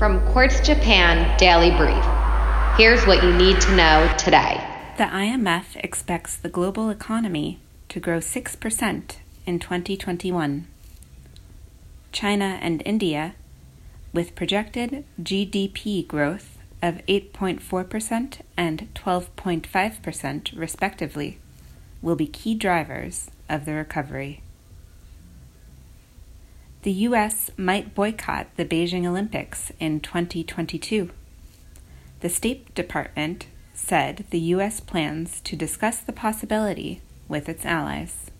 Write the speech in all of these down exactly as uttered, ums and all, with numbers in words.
From Quartz Japan Daily Brief. Here's what you need to know today. The I M F expects the global economy to grow six percent in twenty twenty-one. China and India, with projected G D P growth of eight point four percent and twelve point five percent respectively, will be key drivers of the recovery. The U S might boycott the Beijing Olympics in twenty twenty-two. The State Department said the U S plans to discuss the possibility with its allies.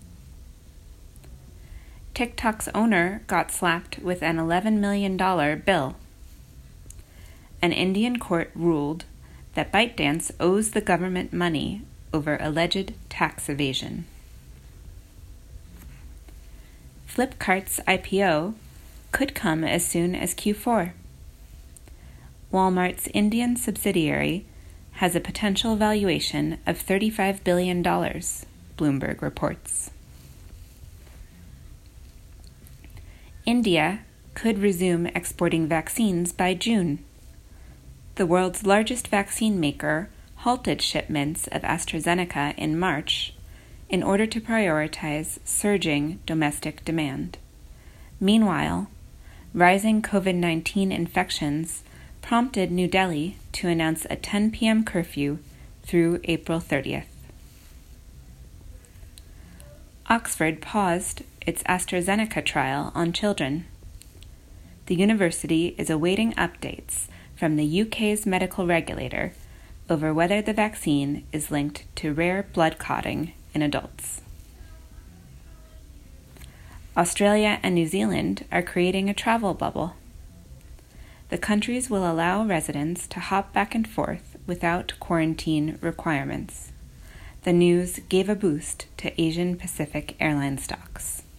TikTok's owner got slapped with an eleven million dollars bill. An Indian court ruled that ByteDance owes the government money over alleged tax evasion. Flipkart's I P O could come as soon as Q four. Walmart's Indian subsidiary has a potential valuation of thirty-five billion dollars, Bloomberg reports. India could resume exporting vaccines by June. The world's largest vaccine maker halted shipments of AstraZeneca in March in order to prioritize surging domestic demand. Meanwhile, rising COVID nineteen infections prompted New Delhi to announce a ten p.m. curfew through April thirtieth. Oxford paused its AstraZeneca trial on children. The university is awaiting updates from the U K's medical regulator over whether the vaccine is linked to rare blood clotting in adults. Australia and New Zealand are creating a travel bubble. The countries will allow residents to hop back and forth without quarantine requirements. The news gave a boost to Asian Pacific airline stocks.